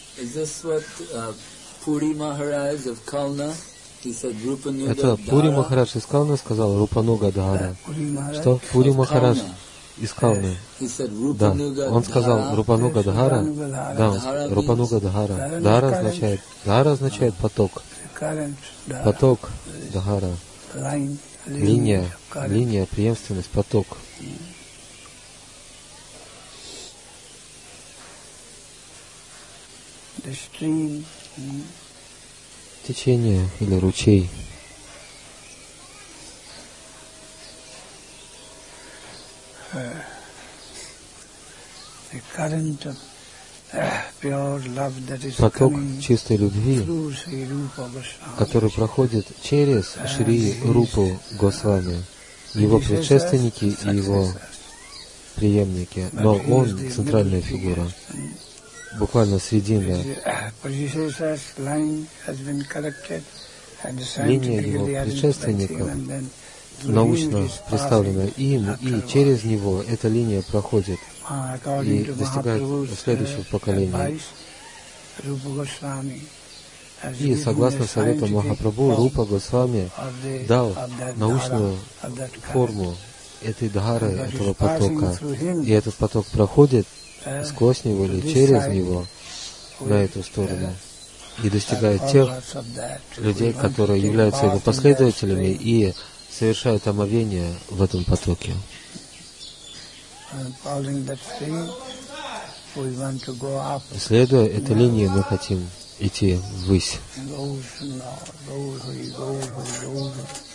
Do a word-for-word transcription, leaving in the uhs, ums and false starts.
Это Пури Махарадж из Калны сказал Рупануга Дхара. Что? Пури Махарадж из Калны. Да, он сказал Рупануга Дхара. Да, он, Рупануга Дхара. Дхара означает, Дхара означает поток. Поток Дхара. Линия, линия, преемственность, поток. Течение или ручей. Поток чистой любви, который проходит через Шри Рупу Госвами, его предшественники и его преемники, но он центральная фигура, буквально срединная. Линия его предшественников научно представлена им, и через него эта линия проходит и достигает следующего поколения. И согласно совету Махапрабху, Рупа Госвами дал научную форму этой дхары, этого потока. И этот поток проходит сквозь него или через него на эту сторону и достигает тех людей, которые являются его последователями и совершают омовение в этом потоке. Следуя этой линии, мы хотим идти ввысь.